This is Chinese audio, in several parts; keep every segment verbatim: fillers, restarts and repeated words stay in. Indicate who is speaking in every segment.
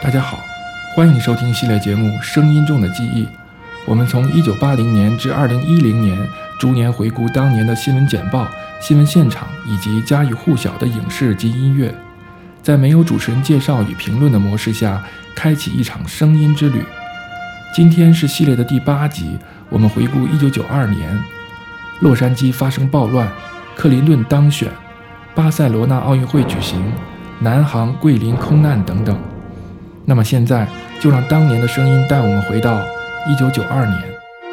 Speaker 1: 大家好，欢迎收听系列节目《声音中的记忆》。我们从一九八零年至二零一零年，逐年回顾当年的新闻简报、新闻现场以及家喻户晓的影视及音乐，在没有主持人介绍与评论的模式下，开启一场声音之旅。今天是系列的第八集，我们回顾一九九二年，洛杉矶发生暴乱，克林顿当选，巴塞罗那奥运会举行，南航桂林空难等等。那么现在就让当年的声音带我们回到一九九二年。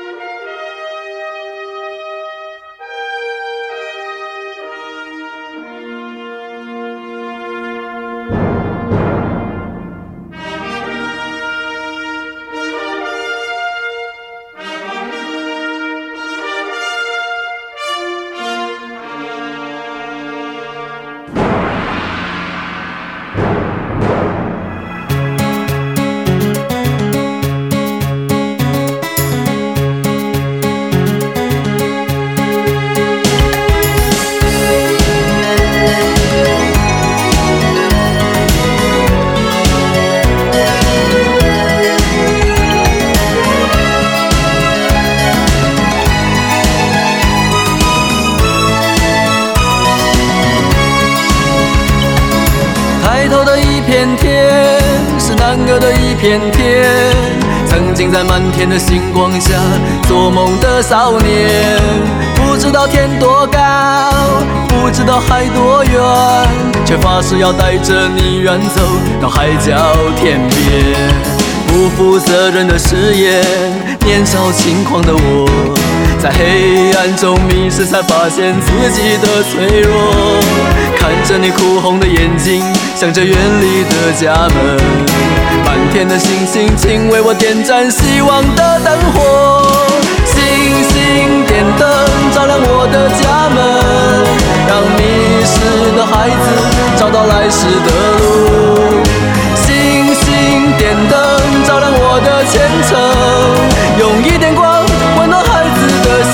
Speaker 2: 片天，曾经在满天的星光下做梦的少年，不知道天多高，不知道海多远，却发誓要带着你远走到海角天边。不负责任的誓言，年少轻狂的我，在黑暗中迷失，才发现自己的脆弱。看着你哭红的眼睛，想着远离的家门，满天的星星，请为我点燃希望的灯火。星星点灯，照亮我的家门，让迷失的孩子找到来时的路。星星点灯，照亮我的前程，用一点光温暖孩子的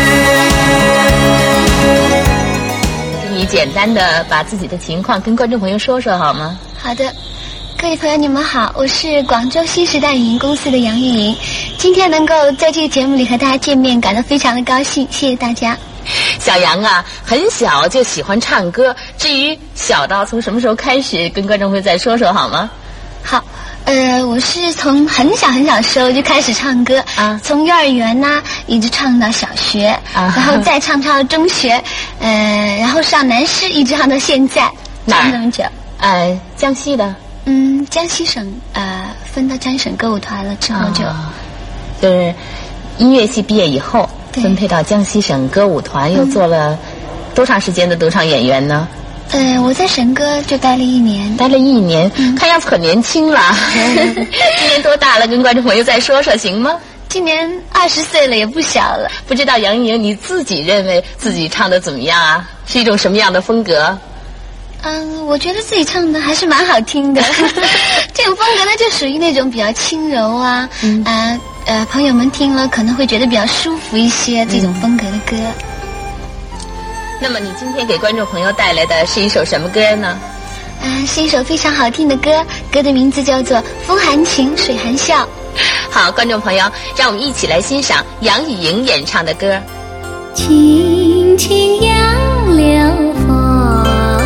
Speaker 2: 心。
Speaker 3: 你简单的把自己的情况跟观众朋友说说好吗？
Speaker 4: 好的，各位朋友你们好，我是广州新时代影音公司的杨玉莹，今天能够在这个节目里和大家见面，感到非常的高兴，谢谢大家。
Speaker 3: 小杨啊，很小就喜欢唱歌，至于小到从什么时候开始，跟观众朋友再说说好吗？
Speaker 4: 好，呃，我是从很小很小的时候就开始唱歌啊，从幼儿园呐、啊、一直唱到小学，啊、然后再唱唱到中学，呃，然后上南师，一直唱到现在，唱那么久。
Speaker 3: 呃，江西的。
Speaker 4: 嗯，江西省呃分到江西省歌舞团了之后就、哦，
Speaker 3: 就是音乐系毕业以后分配到江西省歌舞团，又做了多长时间的独唱演员呢？
Speaker 4: 呃，我在神歌就待了一年，
Speaker 3: 待了一年，嗯、看样子很年轻了。今年多大了？跟观众朋友再说说行吗？
Speaker 4: 今年二十岁了，也不小了。
Speaker 3: 不知道杨莹你自己认为自己唱的怎么样啊？是一种什么样的风格？
Speaker 4: 嗯，我觉得自己唱的还是蛮好听的。这种风格呢，就属于那种比较轻柔啊，嗯、呃呃，朋友们听了可能会觉得比较舒服一些，这种风格的歌。
Speaker 3: 那么你今天给观众朋友带来的是一首什么歌呢？
Speaker 4: 啊、呃，是一首非常好听的歌，歌的名字叫做《风含情，水含笑》。
Speaker 3: 好，观众朋友，让我们一起来欣赏杨钰莹演唱的歌。
Speaker 5: 轻轻杨柳风，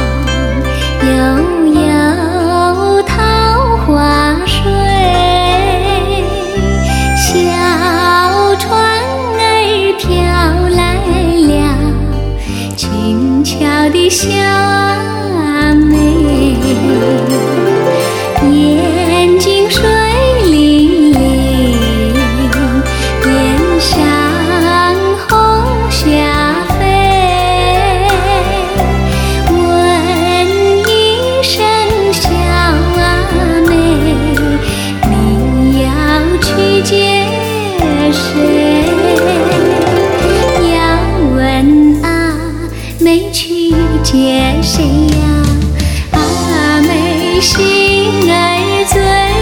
Speaker 5: 悠悠桃花水，小船儿飘来了，轻巧的小阿妹，眼睛水灵灵，脸上红霞飞，问一声小阿妹，你要去见谁？要问阿妹去见谁呀？阿妹心儿醉，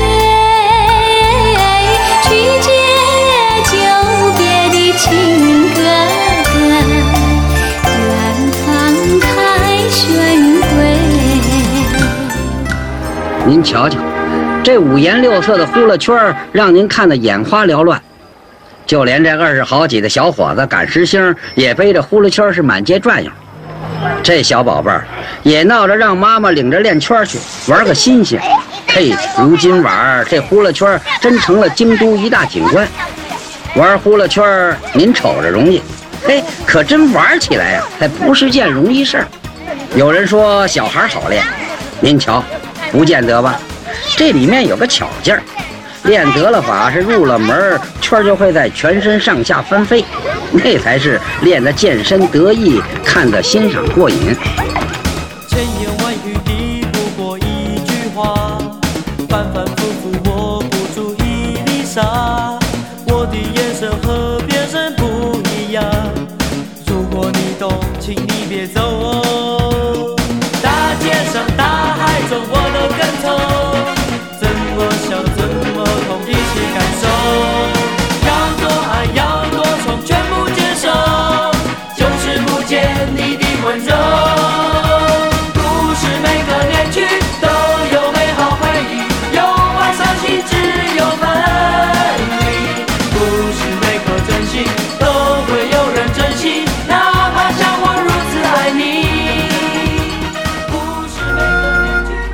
Speaker 5: 去见久别的亲哥哥，远方凯旋归。
Speaker 6: 您瞧瞧， 这五颜六色的呼啦圈让您看得眼花缭乱。就连这二十好几的小伙子赶时兴也背着呼啦圈是满街转悠。这小宝贝儿也闹着让妈妈领着练圈去玩个新鲜。嘿，如今玩这呼啦圈真成了京都一大景观。玩呼啦圈您瞅着容易，嘿，可真玩起来呀、啊，还不是件容易事儿。有人说小孩好练，您瞧，不见得吧？这里面有个巧劲儿，练得了法是入了门，圈就会在全身上下翻飞，那才是练得健身得意，看得欣赏过瘾。
Speaker 2: 千言万语抵不过一句话，反反复复握不住一粒沙，我的眼神和别人不一样，如果你懂，请你别走哦。大街上大海中我都跟从，怎么笑怎么痛一起感受，要多爱要多宠全部接受，就是不见你的温柔。不是每个年纪都有美好回忆，有爱伤心只有分离，不是每颗真心都会有人珍惜，哪怕像我如此爱你。不是每个年纪。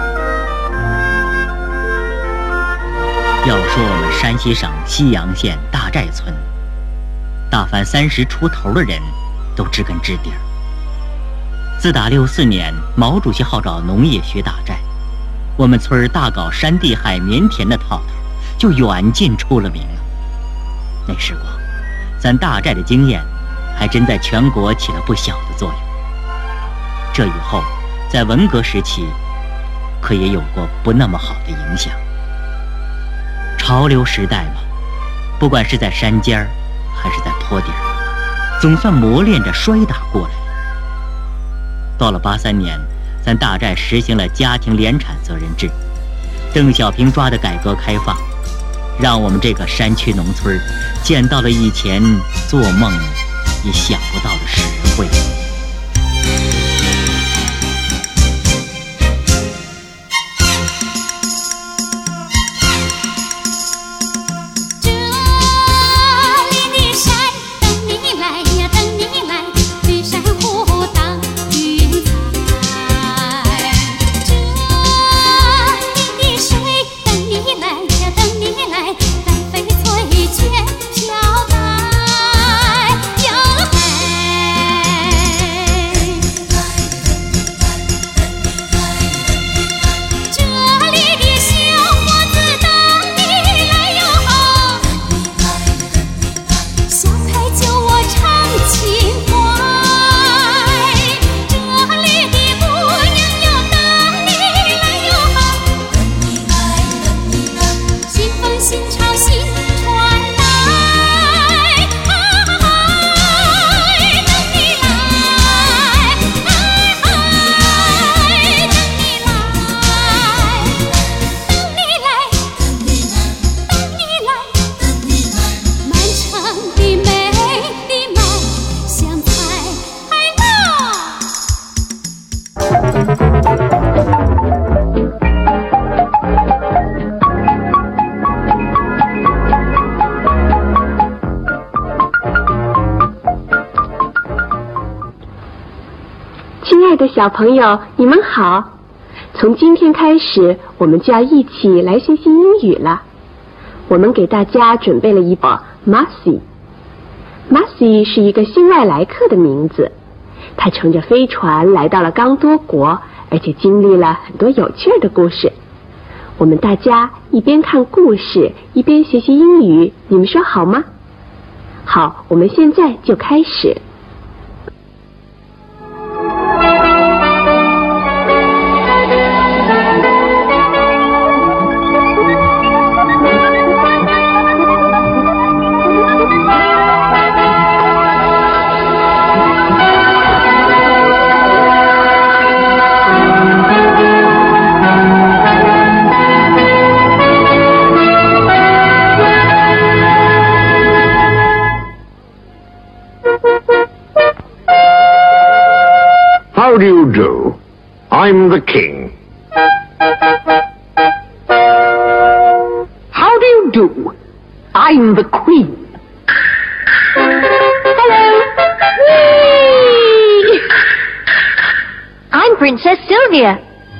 Speaker 7: 要说我们山西省西阳县大寨村，大凡三十出头的人都知根知底儿。自打六四年毛主席号召农业学大寨，我们村儿大搞山地海绵田的套头，就远近出了名了。那时光，咱大寨的经验还真在全国起了不小的作用。这以后，在文革时期，可也有过不那么好的影响。潮流时代嘛，不管是在山尖儿还是在坡底儿，总算磨练着摔打过来。到了八三年，咱大寨实行了家庭联产责任制，邓小平抓的改革开放，让我们这个山区农村见到了以前做梦也想不到的实惠。
Speaker 8: 小朋友，你们好！从今天开始，我们就要一起来学习英语了。我们给大家准备了一本 Marcy。Marcy 是一个新外来客的名字，他乘着飞船来到了刚多国，而且经历了很多有趣的故事。我们大家一边看故事，一边学习英语，你们说好吗？好，我们现在就开始。
Speaker 9: How do you do? I'm the king. I'm the queen.
Speaker 5: Hello. Whee! I'm Princess Sylvia.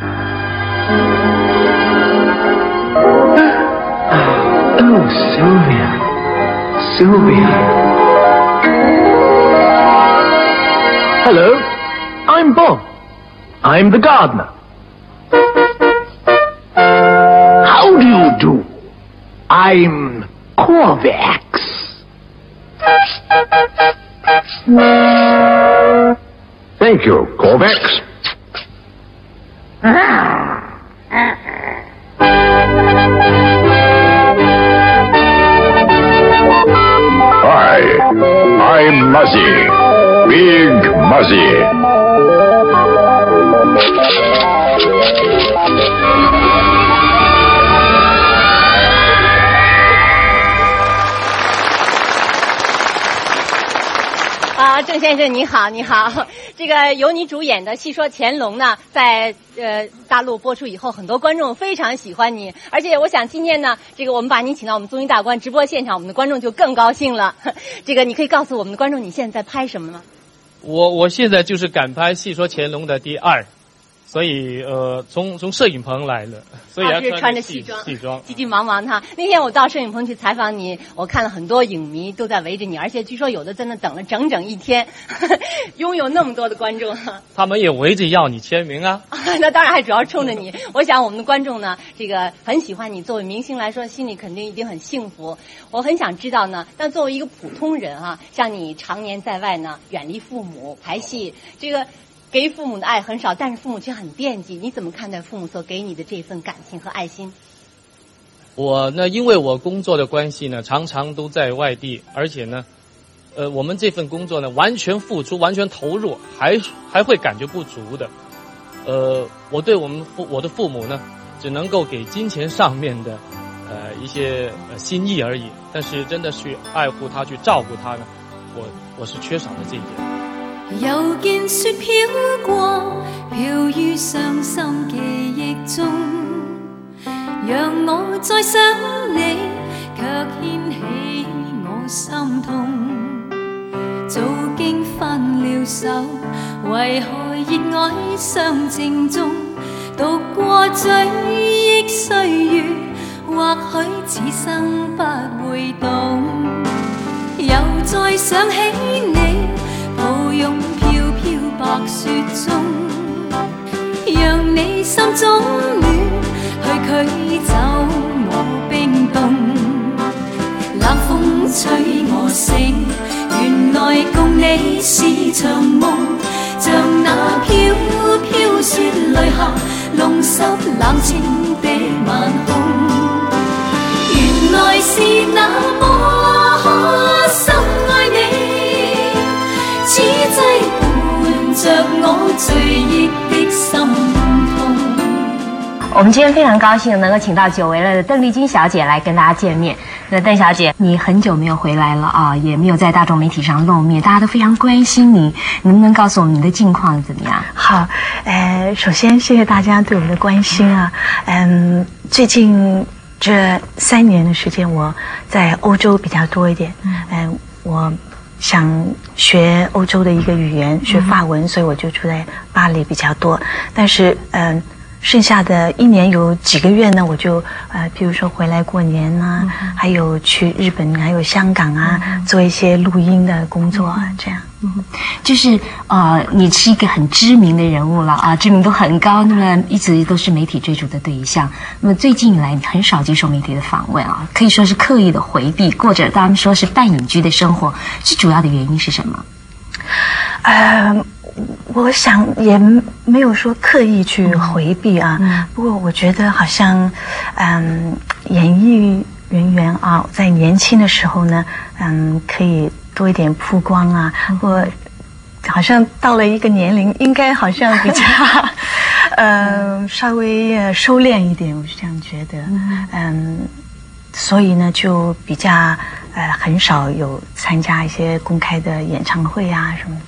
Speaker 9: Oh, Sylvia. Sylvia. Hello. I'm Bob. I'm the gardener. How do you do? I'm Corvax. Thank you, Corvax.
Speaker 10: Hi, I'm Muzzy. Big Muzzy.
Speaker 11: 啊，郑先生你好，你好。这个由你主演的《戏说乾隆》呢，在呃大陆播出以后，很多观众非常喜欢你，而且我想今天呢，这个我们把你请到我们综艺大观直播现场，我们的观众就更高兴了。这个你可以告诉我们的观众，你现在在拍什么吗？
Speaker 12: 我我现在就是赶拍《戏说乾隆》的第二。所以呃，从从摄影棚来了，所以要
Speaker 11: 穿, 穿着
Speaker 12: 戏
Speaker 11: 装，
Speaker 12: 戏装，
Speaker 11: 急急忙忙哈。那天我到摄影棚去采访你，我看了很多影迷都在围着你，而且据说有的在那等了整整一天，呵呵拥有那么多的观众。
Speaker 12: 他们也围着要你签名啊。
Speaker 11: 那当然还主要冲着你。我想我们的观众呢，这个很喜欢你，作为明星来说，心里肯定一定很幸福。我很想知道呢，但作为一个普通人啊，像你常年在外呢，远离父母排戏，这个。给予父母的爱很少，但是父母却很惦记。你怎么看待父母所给你的这份感情和爱心？
Speaker 12: 我呢，因为我工作的关系呢，常常都在外地，而且呢，呃，我们这份工作呢，完全付出、完全投入，还还会感觉不足的。呃，我对我们父我的父母呢，只能够给金钱上面的呃一些呃心意而已，但是真的去爱护他、去照顾他呢，我我是缺少了这一点。
Speaker 5: 又見雪飄過，飄於傷心記憶中，讓我再想你，卻掀起我心痛。早經分了手，為何熱愛相正中？讀過追憶歲月，或許此生不會懂。又再想起你。抱擁飄飄白雪中，讓你心中暖，去驅走我冰凍。冷風吹我醒，原來共你是場夢，像那飄飄雪淚下，弄濕冷清的晚空。原來是那麼深愛你。此際伴着我醉憶的心痛。
Speaker 3: 我们今天非常高興能夠請到久違了的鄧麗君小姐來跟大家見面。那鄧小姐，你很久沒有回來了啊，也沒有在大眾媒體上露面，大家都非常關心你，能不能告訴我們你的近況怎麼樣？
Speaker 13: 好，呃，首先謝謝大家對我們的關心啊。嗯，最近這三年的時間，我在歐洲比較多一點。嗯，我。想學歐洲的一個語言，學法文，嗯、所以我就住在巴黎比較多。但是，嗯、呃，剩下的一年有幾個月呢，我就呃，譬如說回來過年啊，嗯、還有去日本，還有香港啊，嗯、做一些錄音的工作啊，這樣。
Speaker 3: 嗯，就是呃，你是一個很知名的人物了啊，知名度很高，那麼一直都是媒體追逐的對象。那麼最近以來，你很少接受媒體的訪問啊，可以說是刻意的回避，或者他們說是半隱居的生活，最主要的原因是什麼？
Speaker 13: 呃，我想也沒有說刻意去回避啊，嗯、不過我覺得好像，嗯，演藝人員啊，在年輕的時候呢，嗯，可以多一點曝光啊，我好像到了一個年齡，應該好像比較，呃，稍微收斂一點，我是這樣覺得，嗯，所以呢，就比較呃很少有參加一些公開的演唱會啊什麼之類的。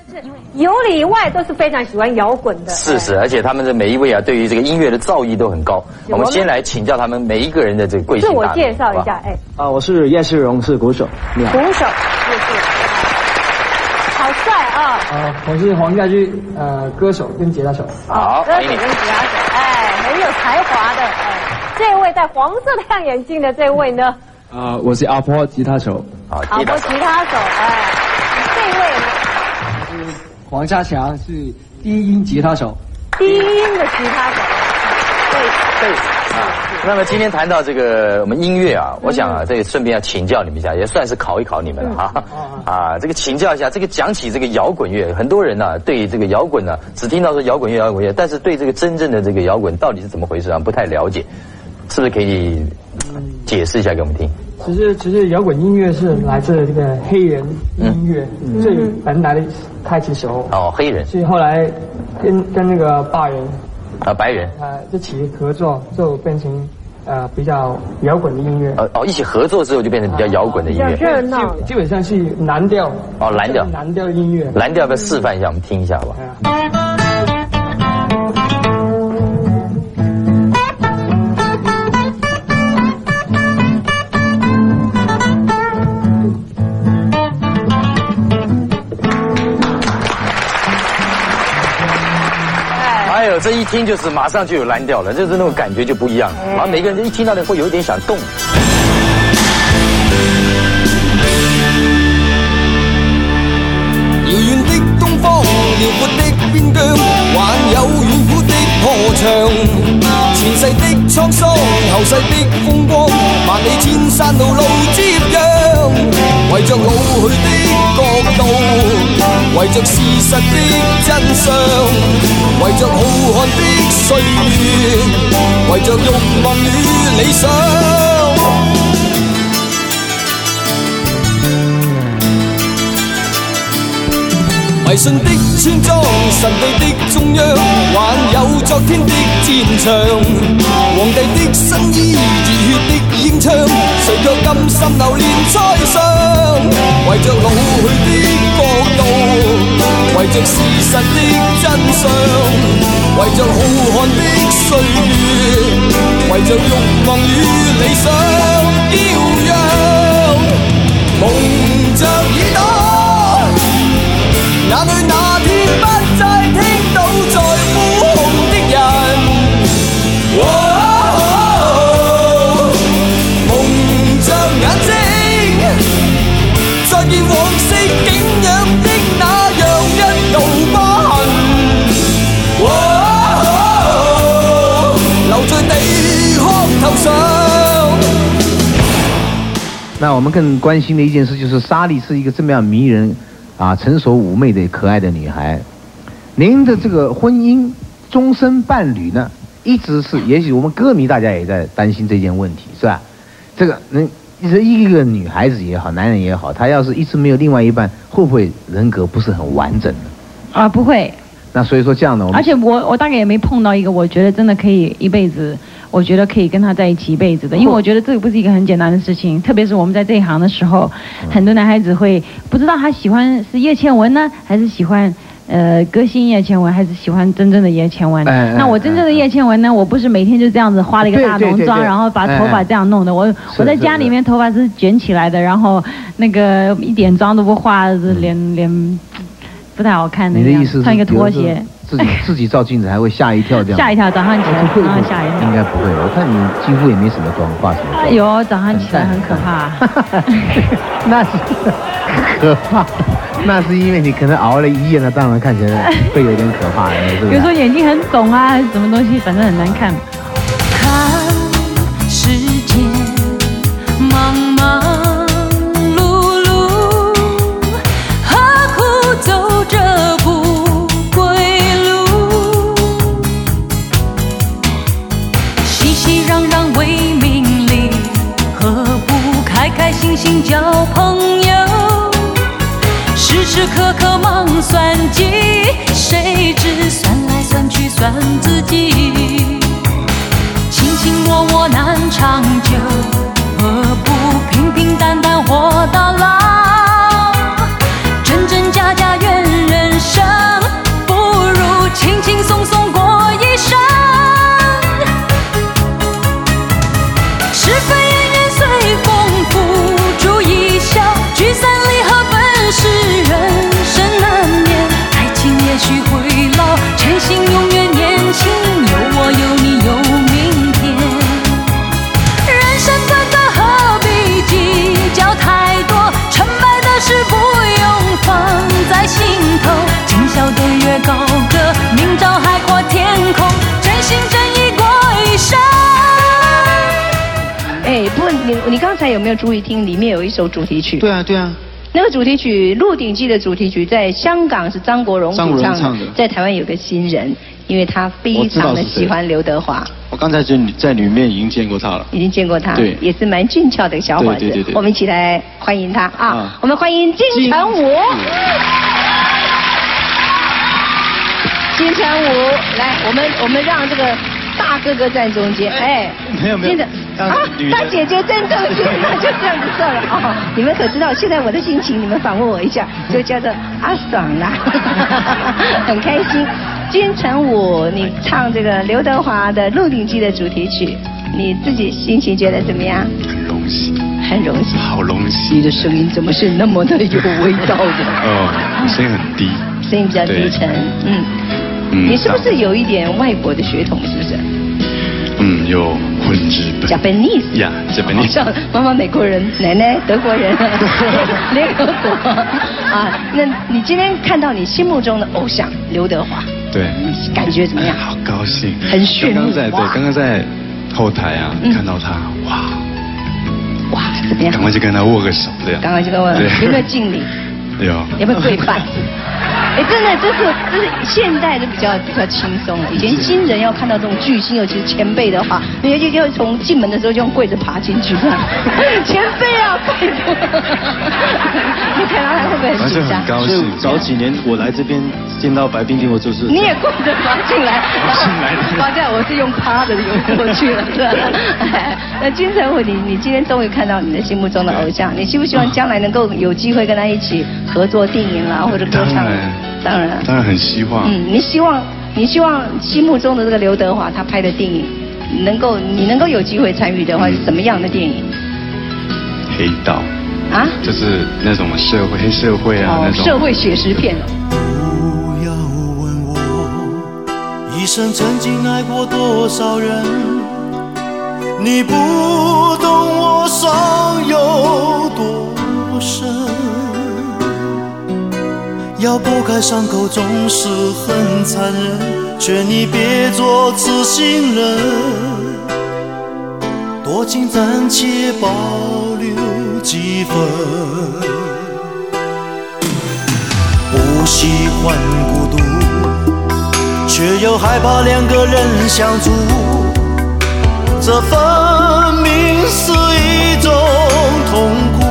Speaker 14: 有里以外都是非常喜欢摇滚的。
Speaker 15: 是是，而且他们的每一位啊，对于这个音乐的造诣都很高。我们先来请教他们每一个人的这个贵姓大名。
Speaker 14: 自我介绍一下，哎。
Speaker 16: 啊，我是叶世荣，是鼓手。你好。
Speaker 14: 鼓手，叶世荣，好帅啊！
Speaker 16: 啊，我是黄家驹，呃，歌手跟吉他手。
Speaker 15: 好，
Speaker 14: 歌手跟吉他手，哎，很有才华的。哎，这位戴黄色太阳眼镜的这位呢？
Speaker 16: 啊，我是阿波吉他手。
Speaker 15: 好，
Speaker 14: 阿波吉他手，哎，这位呢？
Speaker 16: 是黄家强，是低音吉他手。
Speaker 14: 低音的吉他手，对
Speaker 15: 对啊。那么今天谈到这个我们音乐啊，我想啊，这个顺便要请教你们一下，也算是考一考你们了哈。啊，这个请教一下，这个讲起这个摇滚乐，很多人呢、啊、对这个摇滚呢、啊、只听到说摇滚乐摇滚乐，但是对这个真正的这个摇滚到底是怎么回事啊，不太了解，是不是可以解释一下给我们听？
Speaker 16: 其实，其实摇滚音乐是来自这个黑人音乐，嗯、最本来的开始时候。
Speaker 15: 哦，黑人。
Speaker 16: 所以后来跟跟那个白人
Speaker 15: 啊，白人
Speaker 16: 啊一起合作，就变成呃比较摇滚的音乐。
Speaker 15: 哦哦，一起合作之后就变成比较摇滚的音乐。
Speaker 14: 比较热闹。
Speaker 16: 基本上是蓝调。
Speaker 15: 哦，蓝调。
Speaker 16: 蓝调音乐。
Speaker 15: 蓝调要不要示范一下，我们听一下好不好？哎呦，这一听就是马上就有蓝调了，就是那种感觉就不一样。然后每个人一听到的会有一点想动。
Speaker 2: 遙遠的東方，遼闊的邊疆，還有遠古的河牆。前世的滄桑，後世的風光，萬里千山路路接壤。為着老去的國度，為着事實的真相，為着浩瀚的歲月，為着慾望與理想。迷信的村莊，神秘的中央，還有昨天的戰場。皇帝的新衣，熱血的英槍，誰卻甘心流連在上？為着老去的國度，為着事實的真相，為着浩瀚的歲月，為着慾望與理想飄揚，蒙着耳朵。哪裏那天不再聽到在呼號的人？哦哦、蒙着眼睛，再見往昔景仰的那樣一道疤痕。哦哦、留在地殼頭上。
Speaker 17: 那我们更关心的一件事就是，莎莉是一个这么样迷人。啊，成熟妩媚的可爱的女孩，您的这个婚姻终身伴侣呢，一直是，也许我们歌迷大家也在担心这件问题，是吧？这个能，一个女孩子也好，男人也好，他要是一直没有另外一半，会不会人格不是很完整呢？
Speaker 18: 啊，不会。
Speaker 17: 那所以说这样的，
Speaker 18: 而且我我大概也没碰到一个我觉得真的可以一辈子，我觉得可以跟他在一起一辈子的，因为我觉得这个不是一个很简单的事情，特别是我们在这一行的时候，很多男孩子会不知道他喜欢是叶倩文呢，还是喜欢呃歌星叶倩文，还是喜欢真正的叶倩文。哎、那我真正的叶倩文呢，我不是每天就这样子化了一个大浓妆，然后把头发这样弄的，我我在家里面头发是卷起来的，然后那个一点妆都不化，脸脸。不太好看的样子，穿一个拖鞋，
Speaker 17: 自己自己照镜子还会吓一跳这样。
Speaker 18: 吓一跳，早上起来早上吓一跳。
Speaker 17: 应该不会，我看你几乎也没什么妆，化什么妆？
Speaker 18: 有，早上起来很可怕。
Speaker 17: 那是可怕，那是因为你可能熬了一夜，那当然看起来会有点可怕，是不是？
Speaker 18: 有时候眼睛很肿啊，还是什么东西，反正很难看。
Speaker 5: 看世界茫茫。走这不归路，熙熙攘攘为名利，何不开开心心交朋友？时时刻刻忙算计，谁知算来算去算自己。 轻轻松松过一生。是非恩怨随风付诸一笑，聚散离合本是人生难免。爱情也许会老，真心永远年轻，有我有你有明天。人生短短何必计较太多，成败的事不用放在心头。今宵对月高歌，明朝海阔天空，真心真意过一生。
Speaker 19: 哎，不过你你刚才有没有注意听？里面有一首主题曲。
Speaker 20: 对啊，对啊。
Speaker 19: 那个主题曲《鹿鼎记》的主题曲，在香港是张国荣
Speaker 20: 张国荣唱的，
Speaker 19: 在台湾有个新人，因为他非常的喜欢刘德华。
Speaker 20: 我刚才就在里面已经见过他了。
Speaker 19: 已经见过他，
Speaker 20: 对，
Speaker 19: 也是蛮俊俏的小伙子。
Speaker 20: 对对对对。
Speaker 19: 我们一起来欢迎他啊！
Speaker 20: 啊
Speaker 19: 我们欢迎金城武。金城武，来，我们我们让这个大哥哥站中间，哎，
Speaker 20: 没有没有，
Speaker 19: 啊，大姐姐站中间，那就这样子算了哦。你们可知道现在我的心情？你们访问我一下，就叫做阿爽啦，很开心。金城武，你唱这个刘德华的《鹿鼎记》的主题曲，你自己心情觉得怎么样？
Speaker 20: 很荣幸，
Speaker 19: 很荣幸，
Speaker 20: 好荣幸。
Speaker 19: 你的声音怎么是那么的有味道的？
Speaker 20: 哦，声音很低，
Speaker 19: 声音比较低沉，嗯。
Speaker 20: 嗯，
Speaker 19: 你是不是有一点外国的血统？是不是？
Speaker 20: 嗯，有混日本。
Speaker 19: Japanese。
Speaker 20: 呀 ，Japanese。
Speaker 19: 像妈妈美国人，奶奶德国人，联合国啊。那你今天看到你心目中的偶像刘德华，
Speaker 20: 对，
Speaker 19: 感觉怎么样？
Speaker 20: 好高兴，
Speaker 19: 很炫目。
Speaker 20: 刚刚在对，刚刚在后台啊，
Speaker 19: 嗯、
Speaker 20: 看到他，哇，
Speaker 19: 哇，怎么样？
Speaker 20: 赶快去跟他握个手，这样。
Speaker 19: 赶快去跟我，有没有敬礼？
Speaker 20: 有。
Speaker 19: 有没有跪拜？哎，真的，这是这是现代的比较比较轻松了。以前新人要看到这种巨星，尤其是前辈的话，你就就从进门的时候就用跪着爬进去，这样。前辈啊，拜托！你看到他会不会很紧张？
Speaker 20: 很高兴。
Speaker 21: 早几年我来这边见到白冰冰，我就是
Speaker 19: 你也跪着爬进来，
Speaker 21: 爬进来。
Speaker 19: 爬进来，我是用趴的游过去了，是吧？那金城武，你你今天终于看到你的心目中的偶像，你希不希望将来能够有机会跟他一起合作电影啦，或者歌唱？当然，
Speaker 20: 当然很希望。
Speaker 19: 嗯，你希望你希望心目中的这个刘德华他拍的电影，能够你能够有机会参与的话，是什么样的电影？
Speaker 20: 黑道。
Speaker 19: 啊？
Speaker 20: 就是那种社会黑社会啊，
Speaker 19: 哦、
Speaker 20: 那种
Speaker 19: 社会写实片。
Speaker 22: 不要问我一生曾经爱过多少人，你不懂我伤有多深。要拨开伤口总是很残忍，劝你别做痴心人，多情暂且保留几分。不喜欢孤独，却又害怕两个人相处，这分明是一种痛苦。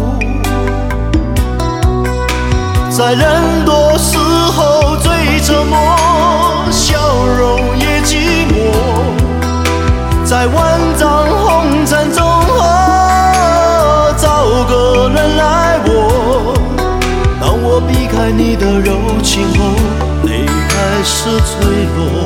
Speaker 22: 在人多时候最沉默，笑容也寂寞。在万丈红尘中，找个人来握。当我避开你的柔情后，泪开始坠落。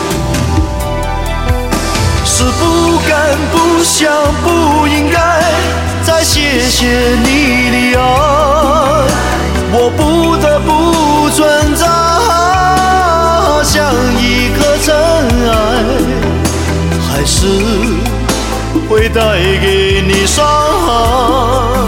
Speaker 22: 是不敢、不想、不应该再谢谢你的爱。我不得不存在，像一颗尘埃，还是会带给你伤害。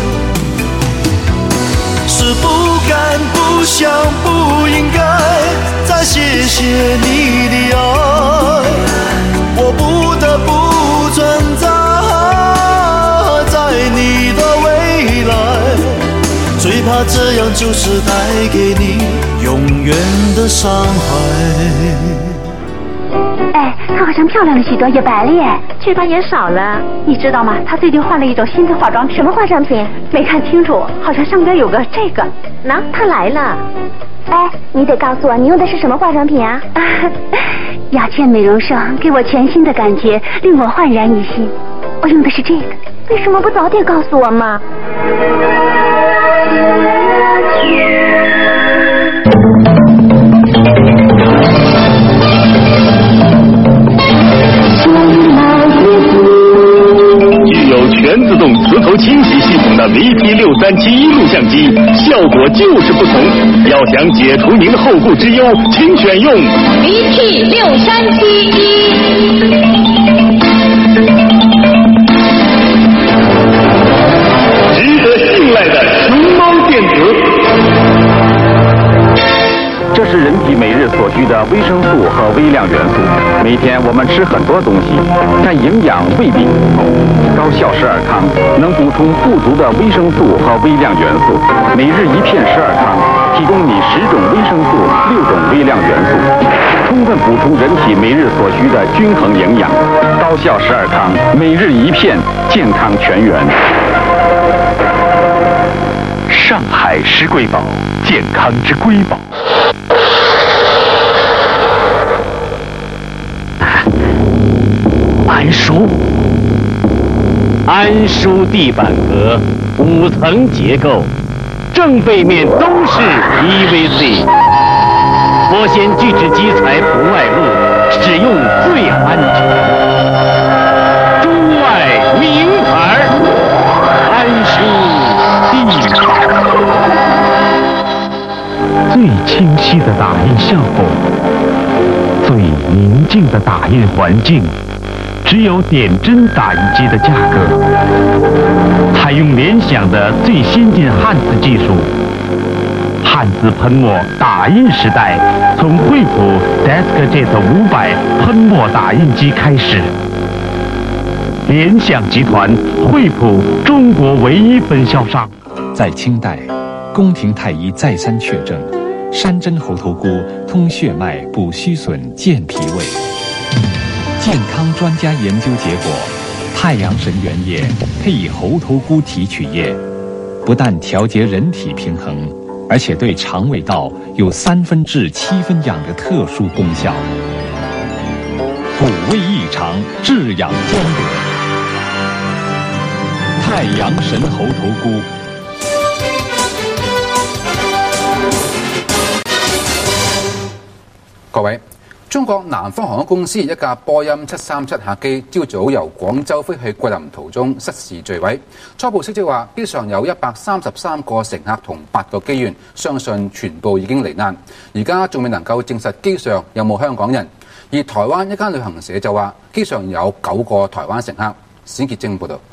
Speaker 22: 是不敢、不想、不应该再谢谢你的爱，我不得不存在，在你的未来。最怕这样就是带给你永远的伤害。
Speaker 23: 哎，她好像漂亮了许多，也白了耶，雀斑也少了。你知道吗？她最近换了一种新的化妆品。什么化妆品？没看清楚，好像上边有个这个。喏，她来了。哎，你得告诉我，你用的是什么化妆品啊？啊，雅倩美容霜给我全新的感觉，令我焕然一新。我用的是这个，为什么不早点告诉我嘛？
Speaker 10: 我就是不同。要想解除您的后顾之忧，请选用
Speaker 1: B T 六三七一。
Speaker 10: 值得信赖的熊猫电子。这是人体每日所需的维生素和微量元素。每天我们吃很多东西，但营养未必足够。高效十二康能补充不足的维生素和微量元素。每日一片十二康，提供你十种维生素、六种微量元素，充分补充人体每日所需的均衡营养。高效十二康，每日一片，健康全员。上海施瑰宝，健康之瑰宝。
Speaker 4: 安舒，安舒地板革，五层结构，正背面都是 P V C， 玻纤聚酯基材不外露，使用最安全。中外名牌，安舒地板。
Speaker 6: 最清晰的打印效果，最宁静的打印环境。只有点针打印机的价格，采用联想的最先进汉字技术，汉字喷墨打印时代从惠普 DeskJet 五百喷墨打印机开始。联想集团惠普中国唯一分销商。
Speaker 24: 在清代，宫廷太医再三确证，山珍猴头菇通血脉、补虚损、健脾胃。健康专家研究结果，太阳神原液配以猴头菇提取液，不但调节人体平衡，而且对肠胃道有三分治七分养的特殊功效，补胃益肠，治养兼得。太阳神猴头菇。
Speaker 25: 各位。中國南方航空公司一架波音七三七客機朝早由廣州飛去桂林途中失事墜毀。初步消息話，機上有一百三十三個乘客同八個機員，相信全部已經罹難。而家仲未能夠證實機上有冇香港人。而台灣一間旅行社就話，機上有九個台灣乘客。冼潔晶報導。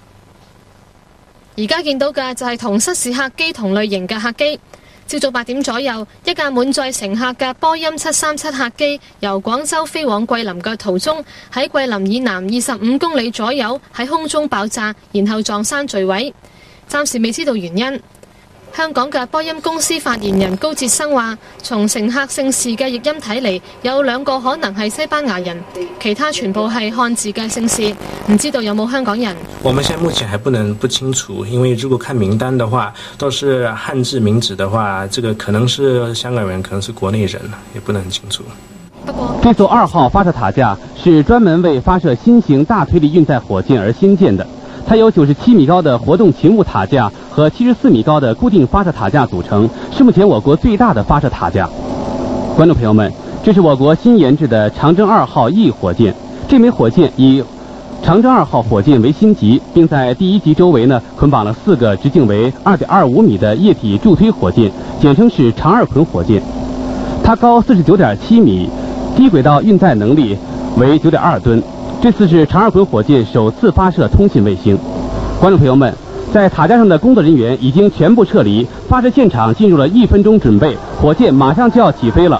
Speaker 26: 而家見到嘅就係同失事客機同類型嘅客機。朝早八點左右，一架滿載乘客嘅波音七三七客機由廣州飛往桂林嘅途中，喺桂林以南二十五公里左右喺空中爆炸，然後撞山墜毀。暫時未知道原因。香港嘅波音公司發言人高哲生話，從乘客姓氏嘅譯音睇嚟，有兩個可能係西班牙人，其他全部係漢字嘅姓氏，唔知道有冇香港人。
Speaker 27: 我們現在目前還不能不清楚，因為如果看名單的話，都是漢字名字的話，這個可能是香港人，可能是國內人，也不能很清楚。
Speaker 28: 這艘二號發射塔架是專門為發射新型大推力運載火箭而興建的。它由九十七米高的活動勤務塔架和七十四米高的固定發射塔架組成，是目前我國最大的發射塔架。觀眾朋友們，這是我國新研製的長征二號 E 火箭。這枚火箭以長征二號火箭為星級，並在第一級周圍呢捆綁了四個直徑為二點二五米的液體助推火箭，簡稱是長二捆火箭。它高四十九點七米，低軌道運載能力為九點二噸。這次是長二捆火箭首次發射通信衛星。觀眾朋友們，在塔架上的工作人員已經全部撤離，發射現場進入了一分鐘準備，火箭馬上就要起飛了。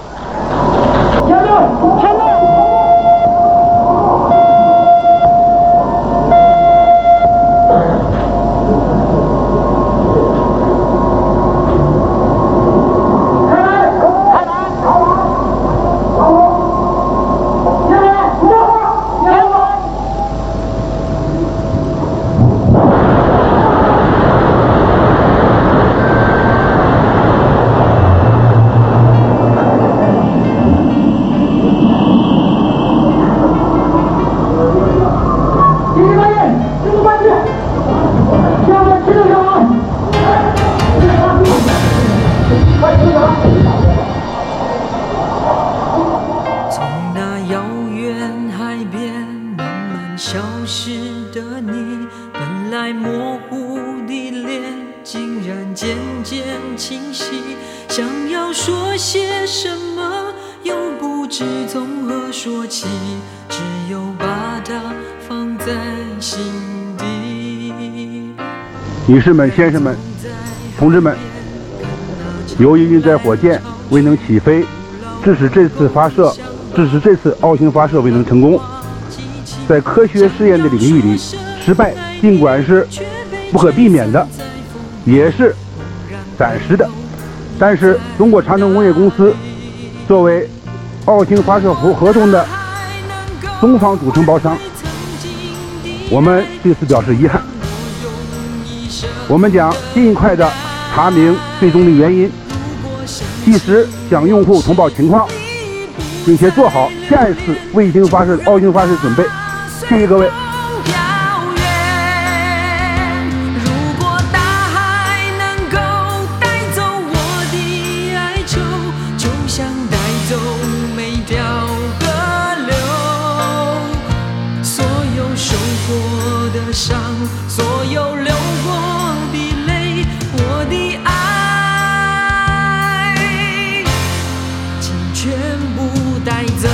Speaker 3: 知从何说起，只有把它放在心底。
Speaker 7: 女士们、先生们、同志们，由于运载火箭未能起飞，致使这次发射，致使这次奥星发射未能成功。在科学试验的领域里，失败尽管是不可避免的，也是暂时的。但是中国长城工业公司作为奥星发射合同的中方主承包商，我们对此表示遗憾。我们将尽快的查明最终的原因，及时向用户通报情况，并且做好下一次卫星发射、奥星发射准备。谢谢各位。
Speaker 3: 所有流过的泪，我的爱，请全部带走。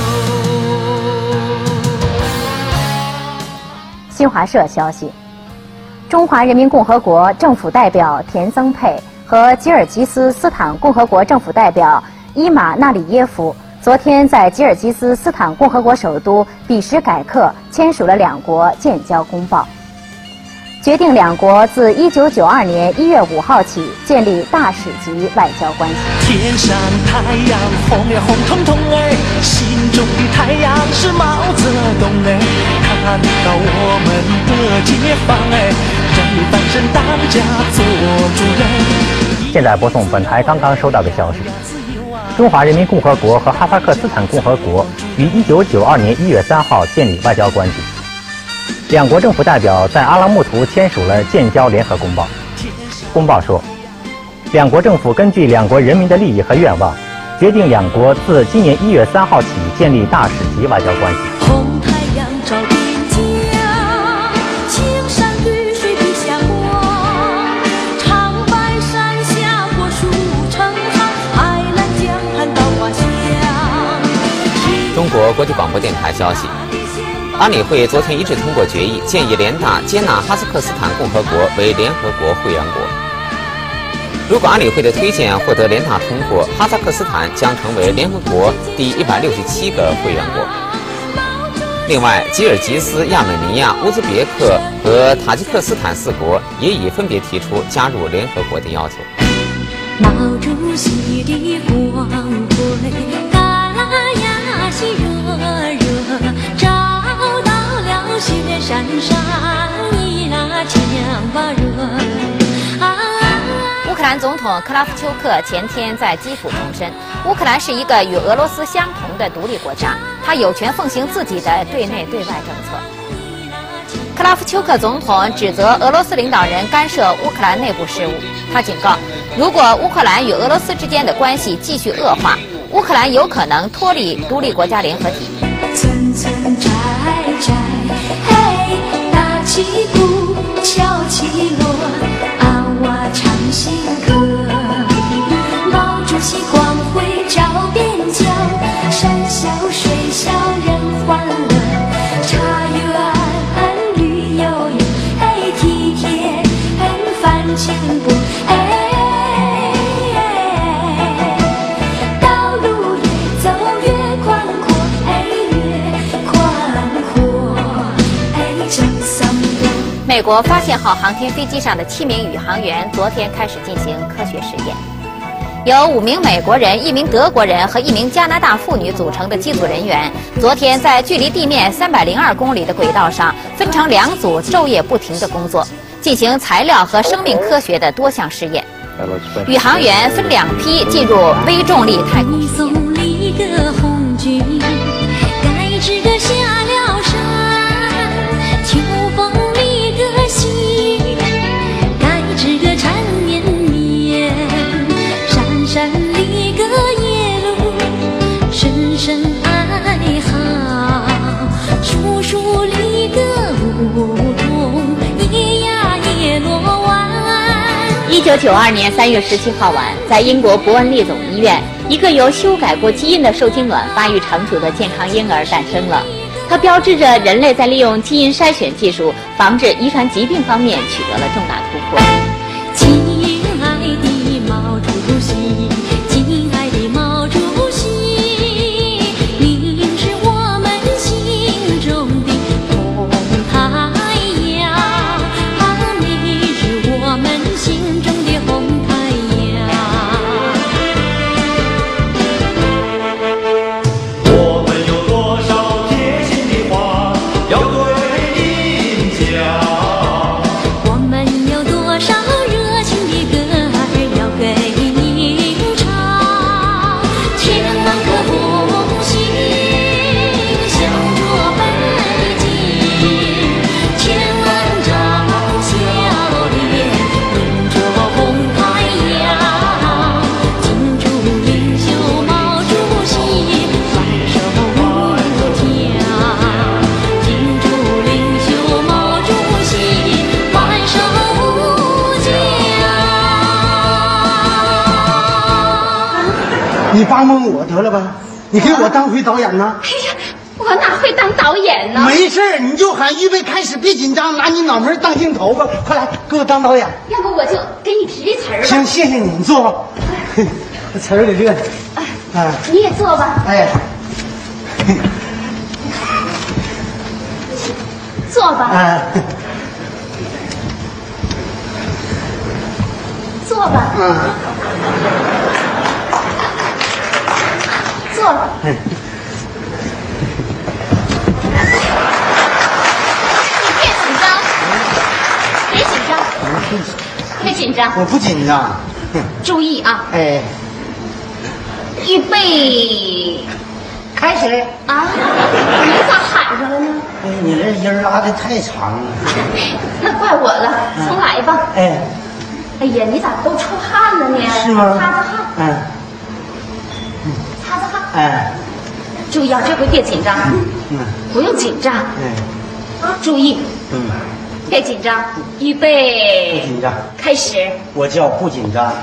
Speaker 8: 新华社消息，中华人民共和国政府代表田增佩和吉尔吉斯斯坦共和国政府代表伊马纳里耶夫昨天在吉尔吉斯斯坦共和国首都比什凯克签署了两国建交公报，决定两国自一九九二年一月五号起建立大使级外交关系。
Speaker 22: 天上太阳红呀红彤彤哎，心中的太阳是毛泽东哎，看到我们的解放哎，让你翻身当家做主人。
Speaker 9: 现在播送本台刚刚收到的消息：中华人民共和国和哈萨克斯坦共和国于一九九二年一月三号建立外交关系。两国政府代表在阿拉木图签署了建交联合公报。公报说，两国政府根据两国人民的利益和愿望，决定两国自今年一月三号起建立大使级外交关系。
Speaker 3: 红太阳照边疆，青山绿水笔下光，长白山下过树成行，海南江畔到花乡。
Speaker 11: 中国国际广播电台消息。安理会昨天一致通过决议，建议联大接纳哈萨克斯坦共和国为联合国会员国。如果安理会的推荐获得联大通过，哈萨克斯坦将成为联合国第一百六十七个会员国。另外，吉尔吉斯、亚美尼亚、乌兹别克和塔吉克斯坦四国也已分别提出加入联合国的要求。
Speaker 3: 毛主席的光辉，嘎呀西热热照。雪山上一拉枪把人啊！
Speaker 8: 乌克兰总统克拉夫丘克前天在基辅重申，乌克兰是一个与俄罗斯相同的独立国家，他有权奉行自己的对内对外政策。克拉夫丘克总统指责俄罗斯领导人干涉乌克兰内部事务，他警告，如果乌克兰与俄罗斯之间的关系继续恶化，乌克兰有可能脱离独立国家联合体。
Speaker 3: 层层摘摘，嘿，打起鼓，敲起锣，啊哇唱新歌。毛主席光辉照边疆，山小水小人欢乐，茶园绿油油，嘿体贴很翻前步，哎。
Speaker 8: 美国发现号航天飞机上的七名宇航员昨天开始进行科学实验，由五名美国人、一名德国人和一名加拿大妇女组成的机组人员，昨天在距离地面三百零二公里的轨道上分成两组，昼夜不停的工作，进行材料和生命科学的多项试验。宇航员分两批进入微重力太空实验。
Speaker 12: 一九九二年三月十七号晚，在英国伯恩利总医院，
Speaker 8: 一个由修改过基因的受精卵发育成熟的健康婴儿诞生了。它标志着人类在利用基因筛选技术防治遗传疾病方面取得了重大突破。
Speaker 5: 亲爱的毛主席，亲爱的毛主席，您是我们心中的红太阳，你是我们心中的红太阳。
Speaker 22: 我们有多少贴心的话要对您讲？
Speaker 5: 我们有多少热情的歌儿要给您唱？千万颗红星向着北京，千万张笑脸迎着红太阳。敬祝领袖毛主席万寿无疆，敬祝领袖毛主席万寿无疆。
Speaker 2: 你帮帮我得了吧，你给我当回导演呢？
Speaker 23: 哎呀，我哪会当导演呢？
Speaker 2: 没事儿，你就喊预备开始，别紧张，拿你脑门当镜头吧，快来给我当导演。
Speaker 23: 要不我就给你提词儿吧。
Speaker 2: 行，谢谢你，你坐吧。这词儿给这，哎，
Speaker 23: 你也坐吧。
Speaker 2: 哎，
Speaker 23: 坐吧。
Speaker 2: 哎，
Speaker 23: 坐吧。
Speaker 2: 嗯，
Speaker 23: 坐吧。
Speaker 2: 嗯
Speaker 23: 你别紧张，别紧张，别紧张，
Speaker 2: 我不紧张。
Speaker 23: 注意啊！
Speaker 2: 哎，
Speaker 23: 预备，
Speaker 2: 开始
Speaker 23: 啊！你咋喊上了呢？
Speaker 2: 哎，你这音儿拉的太长了。
Speaker 23: 那怪我了，重来吧。
Speaker 2: 哎，
Speaker 23: 哎呀，你咋都出汗了呢？
Speaker 2: 是吗？
Speaker 23: 擦擦汗，
Speaker 2: 嗯，
Speaker 23: 擦擦汗。
Speaker 2: 哎，
Speaker 23: 注意啊，这回别紧张，
Speaker 2: 嗯，
Speaker 23: 不用紧张，
Speaker 2: 哎，
Speaker 23: 注意，
Speaker 2: 嗯，
Speaker 23: 别紧张，预
Speaker 2: 不
Speaker 23: 备，
Speaker 2: 紧张。
Speaker 23: 开始。
Speaker 2: 我叫不紧张。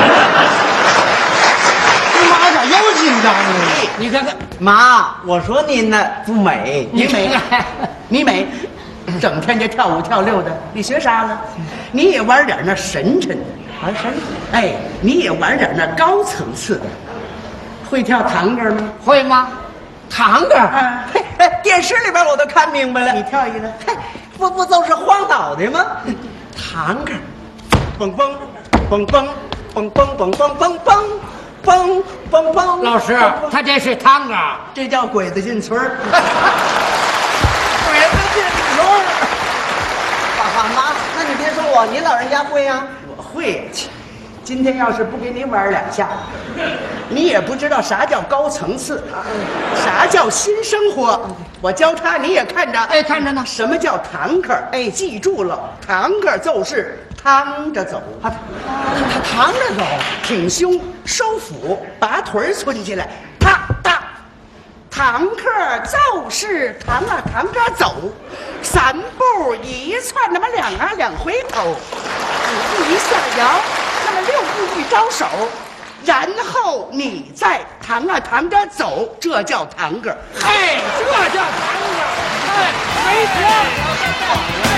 Speaker 2: 你妈咋又紧张呢？
Speaker 12: 你看看，妈，我说您呢不美，你美，你美，整天就跳舞跳溜的，你学啥了？你也玩点那神沉的，玩神？哎，你也玩点那高层次的，会跳探戈吗？会吗？探戈？啊，电视里边我都看明白了。你跳一个，不不都是晃脑袋吗？探戈，蹦蹦蹦蹦蹦蹦蹦蹦蹦蹦。蹦蹦蹦！
Speaker 13: 老师，他这是探戈，
Speaker 12: 这叫鬼子进村儿。鬼子进村儿。爸爸妈，那你别说我，您老人家会呀、啊？我会。今天要是不给你玩两下，你也不知道啥叫高层次，啥叫新生活。我教他，你也看着，
Speaker 13: 哎，看着呢。
Speaker 12: 什么叫探戈？哎，记住了，探戈就是趟着走。啊，他趟着走，挺胸收腹，把腿抻起来，踏踏。探戈就是趟啊趟着走，三步一窜，那么两啊两回头，五步一下摇，那么六步一招手，然后你再趟啊趟着走，这叫探戈。
Speaker 13: 哎，这叫探戈，哎，没错。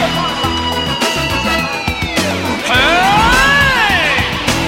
Speaker 22: 哎，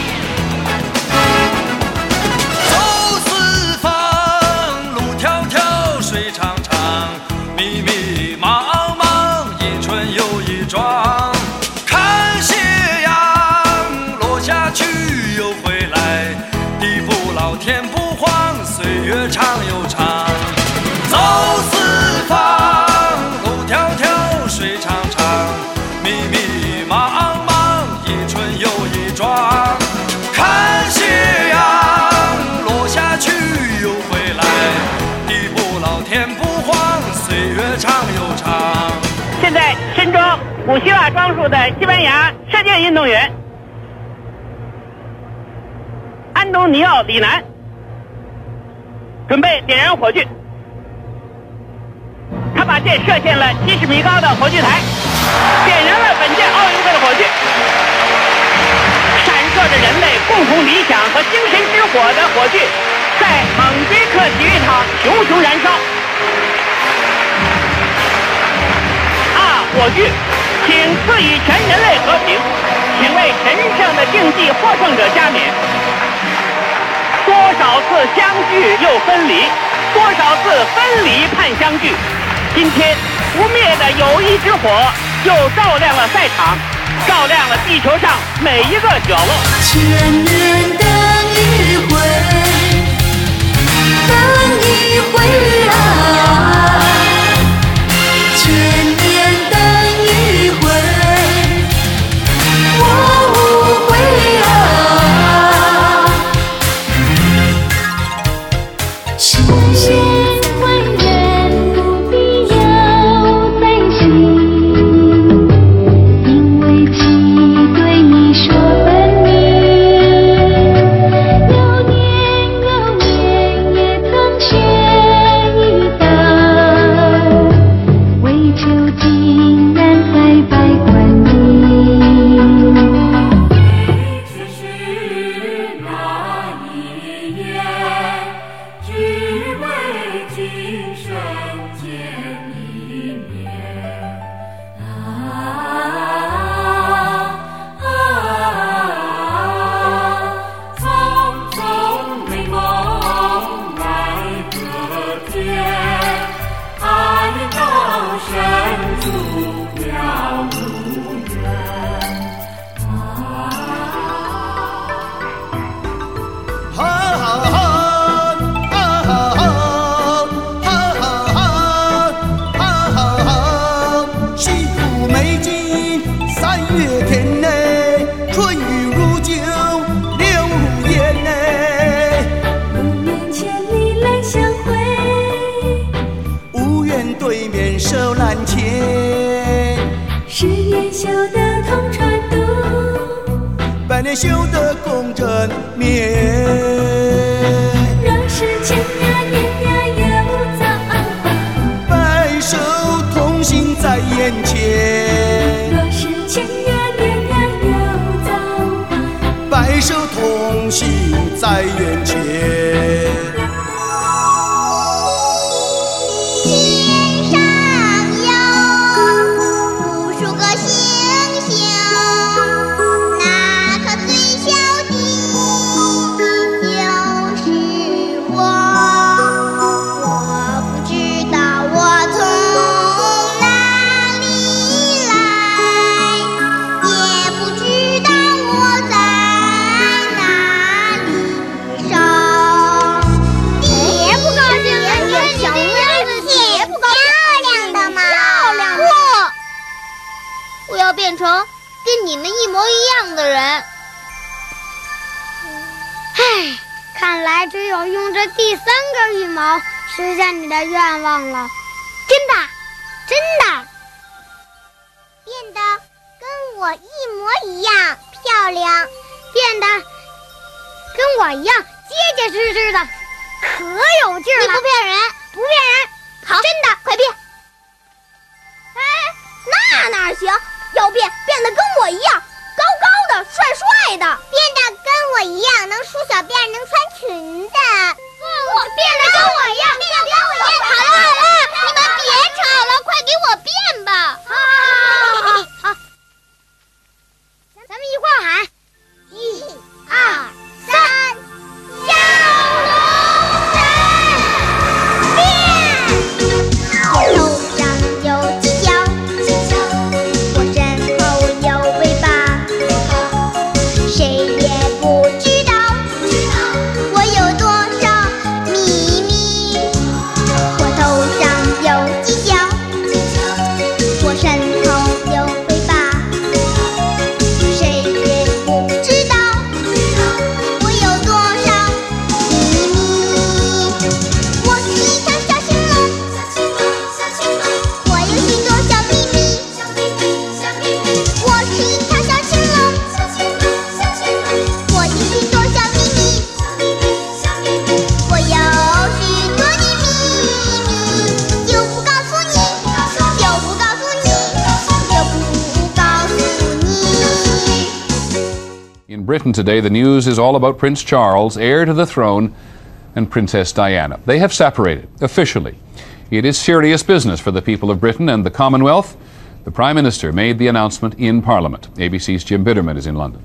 Speaker 22: 走四方，路迢迢，水长长，密密茫茫，一春又一庄。看斜阳落下去又回来，地不老天不荒，岁月长又长。走四方，路迢迢，水长长，密密茫茫，一春又一庄。看斜阳落下去又回来，地不老天不荒，岁月长又长。
Speaker 14: 现在身装古希腊装束的西班牙射箭运动员安东尼奥·里南准备点燃火炬。他把箭射向了七十米高的火炬台，点燃了本届奥运会的火炬，闪烁着人类共同理想和精神之火的火炬，在蒙别克体育场熊熊燃烧。啊，火炬，请赐予全人类和平，请为神圣的竞技获胜者加冕。多少次相聚又分离，多少次分离盼相聚。今天不灭的友谊之火又照亮了赛场，照亮了地球上每一个角落。
Speaker 3: 千年等一回，等一回啊！千年等一回，我无悔啊！世间万人不必有担心，因为其对你说分明。流年流年也曾学一道，为求竟然还拜观音。只是那一夜，只为今生见一面。啊啊匆匆美梦来可见，爱到深处了无缘。
Speaker 22: 哈哈哈，哈哈哈，哈哈哈，哈哈哈，西湖美景三月天内，春雨如酒，柳如烟内。
Speaker 3: 不愿千里来相会，
Speaker 22: 无缘对面手难牵，
Speaker 3: 十年修得同船渡，
Speaker 22: 百年修得共枕眠。
Speaker 3: 若是千呀年呀又早还，
Speaker 22: 白首同行在眼前，
Speaker 3: 若是千呀年呀又早还。
Speaker 22: 白首同行在眼前。
Speaker 1: 天上有无数个星星，那颗最小的就是我。我不知道我从哪里来，也不知道我在哪里生。别不高兴了，你小妹子别不高兴。漂亮的嘛，漂亮的。我要变成跟你们一模一样的人。唉，看来只有用这第三根羽毛实现你的愿望了。真的，真的，变得跟我一模一样漂亮，变得跟我一样结结实实的，可有劲儿了。你不骗人，不骗人。好，真的，快变。哎，那哪行？要变，变得跟我一样，高高的，帅帅的。变得跟我一样，能梳小辫，能穿裙子。我变得跟我一样，变得跟我一样。好了好了，你们别吵了，快给我变吧。好，好，好，好，好。咱们一块儿喊，一、二、三，小龙人变。头上有犄角，我身后有尾巴，谁也不知道我有多少秘密。
Speaker 10: Britain today, the news is all about Prince Charles, heir to the throne, and Princess Diana. They have separated, officially. It is serious business for the people of Britain and the Commonwealth. The Prime Minister made the announcement in Parliament. A B C's Jim Bitterman is in London.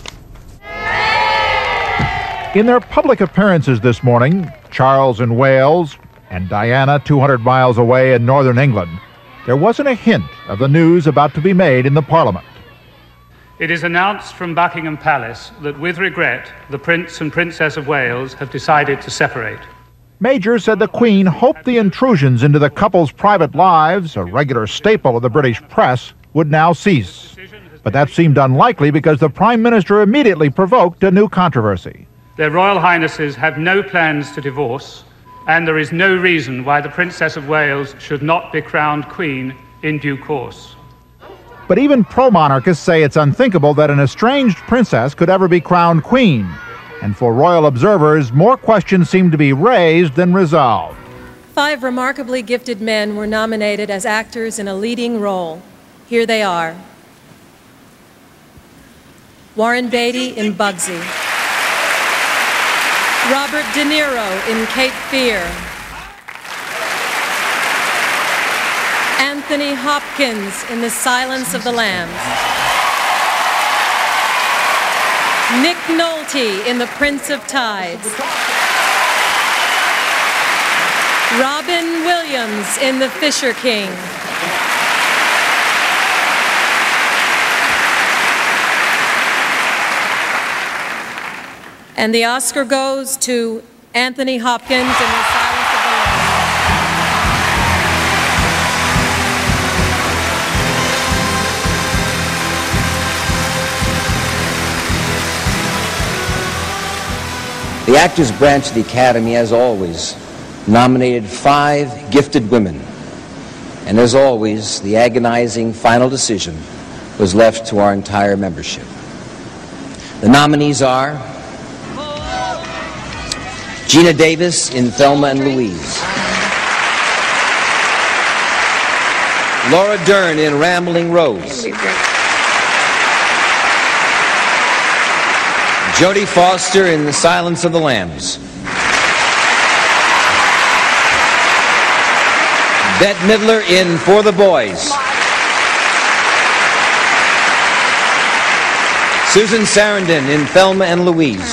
Speaker 15: In their public appearances this morning, Charles in Wales and Diana two hundred miles away in northern England, there wasn't a hint of the news about to be made in the Parliament.
Speaker 16: It is announced from Buckingham Palace that with regret, the Prince and Princess of Wales have decided to separate.
Speaker 15: Major said the Queen hoped the intrusions into the couple's private lives, a regular staple of the British press, would now cease. But that seemed unlikely because the Prime Minister immediately provoked a new controversy.
Speaker 16: Their Royal Highnesses have no plans to divorce, and there is no reason why the Princess of Wales should not be crowned Queen in due course.
Speaker 15: But even pro-monarchists say it's unthinkable that an estranged princess could ever be crowned queen. And for royal observers, more questions seem to be raised than resolved.
Speaker 17: Five remarkably gifted men were nominated as actors in a leading role. Here they are. Warren Beatty in Bugsy. Robert De Niro in Cape Fear. Anthony Hopkins in The Silence of the Lambs. Nick Nolte in The Prince of Tides. Robin Williams in The Fisher King. And the Oscar goes to Anthony Hopkins in The Silence of the Lambs.
Speaker 18: The Actors Branch of the Academy, as always, nominated five gifted women. And as always, the agonizing final decision was left to our entire membership. The nominees are Gina Davis in Thelma and Louise, Laura Dern in Rambling Rose, Jodie Foster in The Silence of the Lambs, Bette Midler in For the Boys, Susan Sarandon in Thelma and Louise,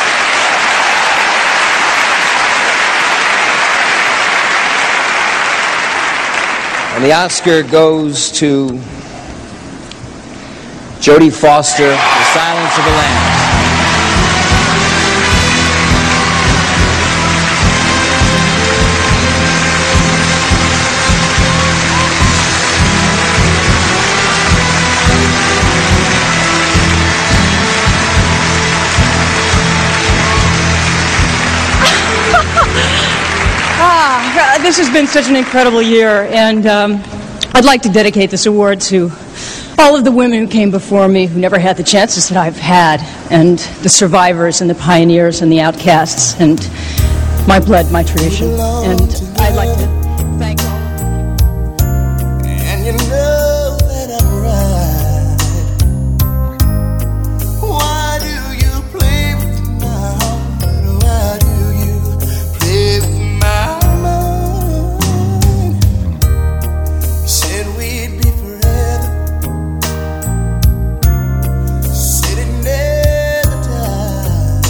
Speaker 18: and the Oscar goes to Jodie Foster, The Silence of the Lambs.
Speaker 19: Ah, this has been such an incredible year, and um, I'd like to dedicate this award to all of the women who came before me who never had the chances that I've had, and the survivors and the pioneers and the outcasts, and my blood, my tradition. And I'd like to thank all of you.
Speaker 22: And you know that I'm right. Why do you play with my heart? Why do you play with my mind? You said we'd be forever. Said it never died.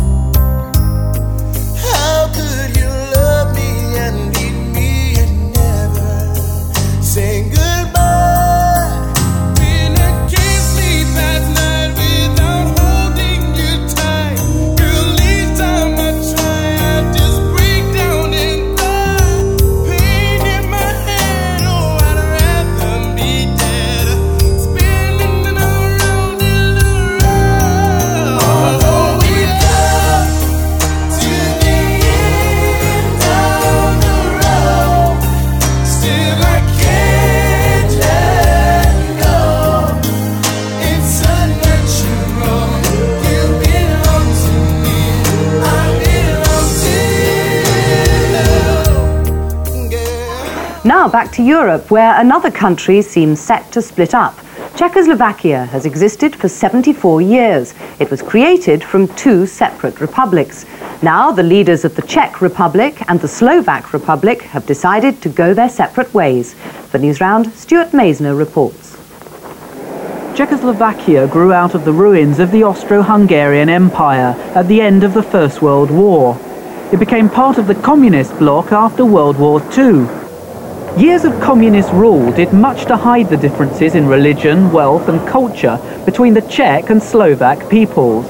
Speaker 22: How could you love me and leave me and never say goodbye? When I can't sleep at night without holding you tight, girl, each time I try, I just break down and die. Pain in my head, oh, I'd rather be dead, spinning around and around. Although we love to the end of the road, still I can't let go. It's unnatural. You belong to me. I belong to you.
Speaker 20: Now back to Europe, where another country seems set to split up.
Speaker 4: Czechoslovakia has existed for seventy-four years. It was created from two separate republics. Now the leaders of the Czech Republic and the Slovak Republic have decided to go their separate ways. For Newsround, Stuart Meisner reports.
Speaker 6: Czechoslovakia grew out of the ruins of the Austro-Hungarian Empire at the end of the First World War. It became part of the communist bloc after World War Two. Years of communist rule did much to hide the differences in religion, wealth and culture between the Czech and Slovak peoples.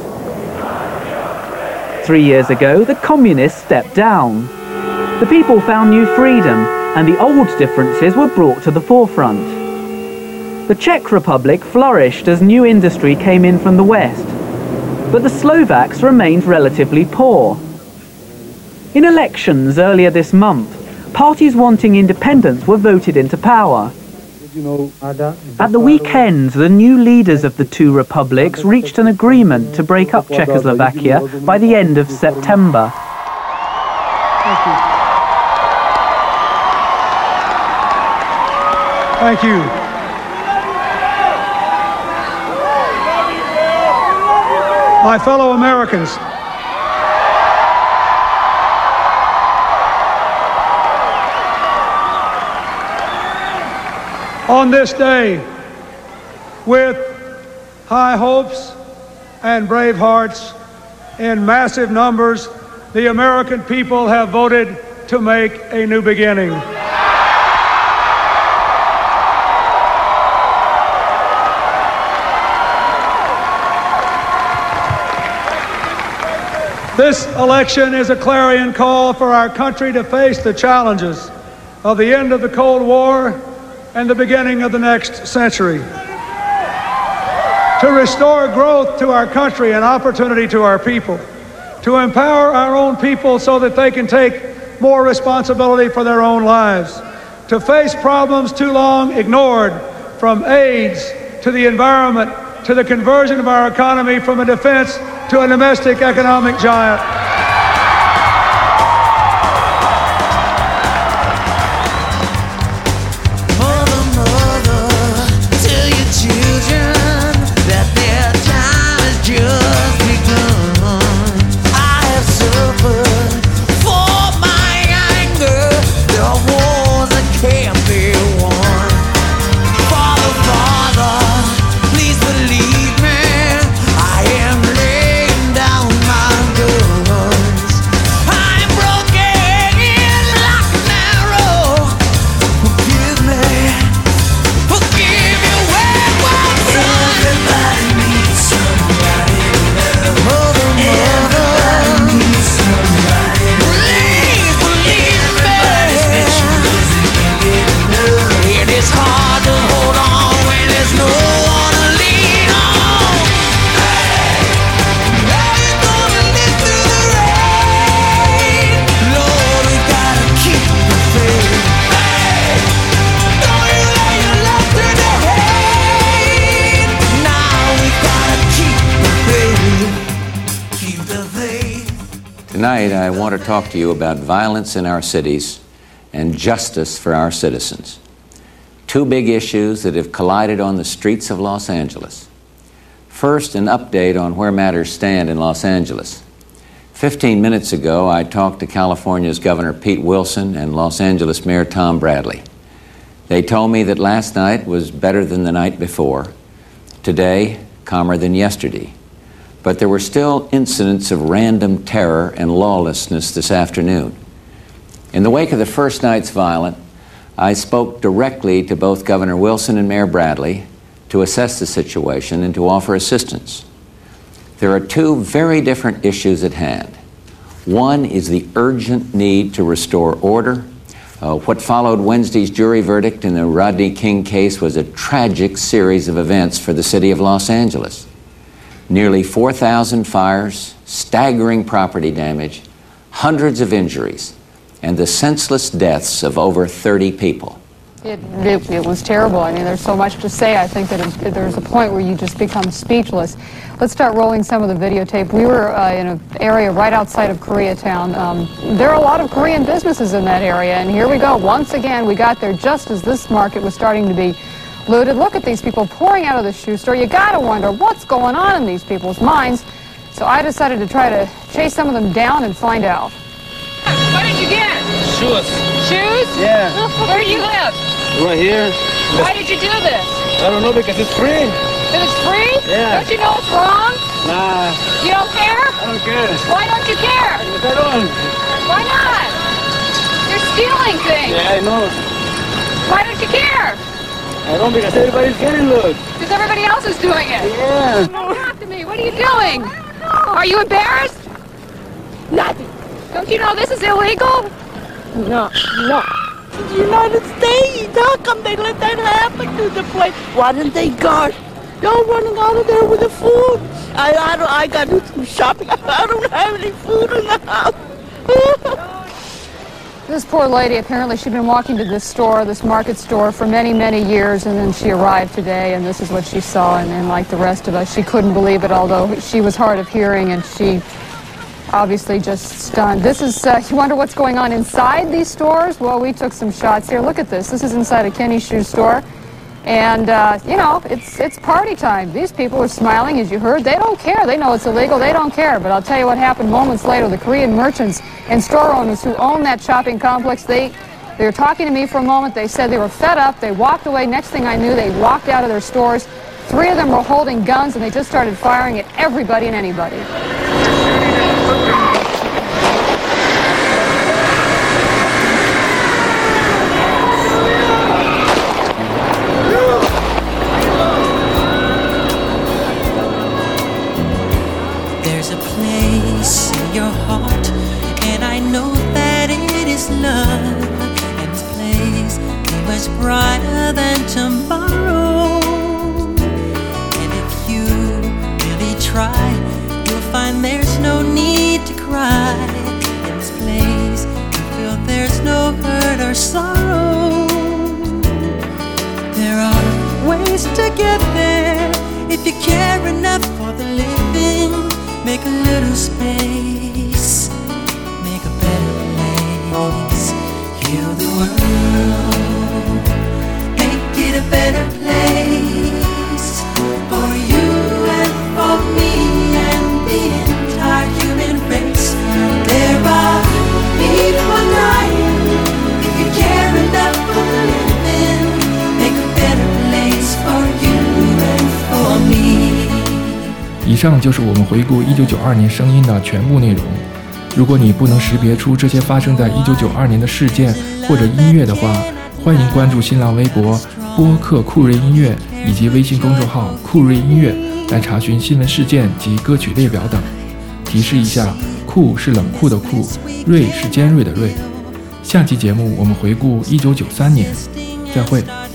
Speaker 6: Three years ago, the communists stepped down. The people found new freedom, and the old differences were brought to the forefront. The Czech Republic flourished as new industry came in from the West, but the Slovaks remained relatively poor. In elections earlier this month, parties wanting independence were voted into power. At the weekend, the new leaders of the two republics reached an agreement to break up Czechoslovakia by the end of September.
Speaker 20: Thank you. My fellow Americans, on this day, with high hopes and brave hearts, in massive numbers, the American people have voted to make a new beginning. This election is a clarion call for our country to face the challenges of the end of the Cold War and the beginning of the next century. To restore growth to our country and opportunity to our people. To empower our own people so that they can take more responsibility for their own lives. To face problems too long ignored, from AIDS to the environment to the conversion of our economy from a defense to a domestic economic giant.
Speaker 18: Tonight, I want to talk to you about violence in our cities and justice for our citizens. Two big issues that have collided on the streets of Los Angeles. First, an update on where matters stand in Los Angeles. Fifteen minutes ago, I talked to California's Governor Pete Wilson and Los Angeles Mayor Tom Bradley. They told me that last night was better than the night before, today calmer than yesterday. But there were still incidents of random terror and lawlessness this afternoon. In the wake of the first night's violence, I spoke directly to both Governor Wilson and Mayor Bradley to assess the situation and to offer assistance. There are two very different issues at hand. One is the urgent need to restore order. Uh, what followed Wednesday's jury verdict in the Rodney King case was a tragic series of events for the city of Los Angeles. Nearly four thousand fires, staggering property damage, hundreds of injuries, and the senseless deaths of over thirty people.
Speaker 21: It, it, it was terrible. I mean, there's so much to say. I think that it, there's a point where you just become speechless. Let's start rolling some of the videotape. We were uh, in an area right outside of Koreatown. Um, there are a lot of Korean businesses in that area, and here we go. Once again, we got there just as this market was starting to be looted. Look at these people pouring out of the shoe store. You gotta wonder what's going on in these people's minds. So I decided to try to chase some of them down and find out.
Speaker 13: What did you get?
Speaker 7: Shoes.
Speaker 13: Shoes?
Speaker 7: Yeah.
Speaker 13: Where do you live?
Speaker 7: Right here.
Speaker 13: Why did you do this?
Speaker 7: I don't know, because it's free.
Speaker 13: Because it's free?
Speaker 7: Yeah.
Speaker 13: Don't you know it's wrong?
Speaker 7: Nah.
Speaker 13: You don't care?
Speaker 7: I don't care.
Speaker 13: Why don't you care?
Speaker 7: I don't.
Speaker 13: Why not? You're stealing things.
Speaker 7: Yeah, I know.
Speaker 13: Why don't you care?
Speaker 7: I don't, because everybody's getting looked.
Speaker 13: Because everybody else is doing it.
Speaker 7: Yeah.
Speaker 13: Don't talk to me. What are you doing? Are you embarrassed? Nothing. Don't you know this is illegal?
Speaker 9: No, no. The United States, how come they let that happen to the place? Why didn't they guard? Y'all running out of there with the food. I, I, don't, I got to do some shopping. I don't have any food in the house.
Speaker 21: This poor lady, apparently she'd been walking to this store, this market store, for many, many years, and then she arrived today, and this is what she saw, and, and like the rest of us, she couldn't believe it, although she was hard of hearing, and she obviously just stunned. This is, uh, you wonder what's going on inside these stores? Well, we took some shots here. Look at this. This is inside a Kenny shoe store. And, uh, you know, it's it's party time. These people are smiling, as you heard. They don't care. They know it's illegal. They don't care. But I'll tell you what happened moments later. The Korean merchants and store owners who own that shopping complex, they, they were talking to me for a moment. They said they were fed up. They walked away. Next thing I knew, they walked out of their stores. Three of them were holding guns, and they just started firing at everybody and anybody.
Speaker 3: There's a place in your heart, and I know that it is love. And this place is much brighter than tomorrow. And if you really try, you'll find there's no need to cry. In this place, you feel there's no hurt or sorrow. There are ways to get there if you care enough for the living. Make a little space, make a better place. Heal the world, make it a better place for you and for me and the entire human race. There are people dying. If you care enough for the living, make a better place for you and for me.
Speaker 11: 以上就是我们回顾一九九二年声音的全部内容。如果你不能识别出这些发生在一九九二年的事件或者音乐的话，欢迎关注新浪微博播客酷瑞音乐以及微信公众号酷瑞音乐来查询新闻事件及歌曲列表等。提示一下，酷是冷酷的酷，瑞是尖锐的锐。下期节目我们回顾一九九三年，再会。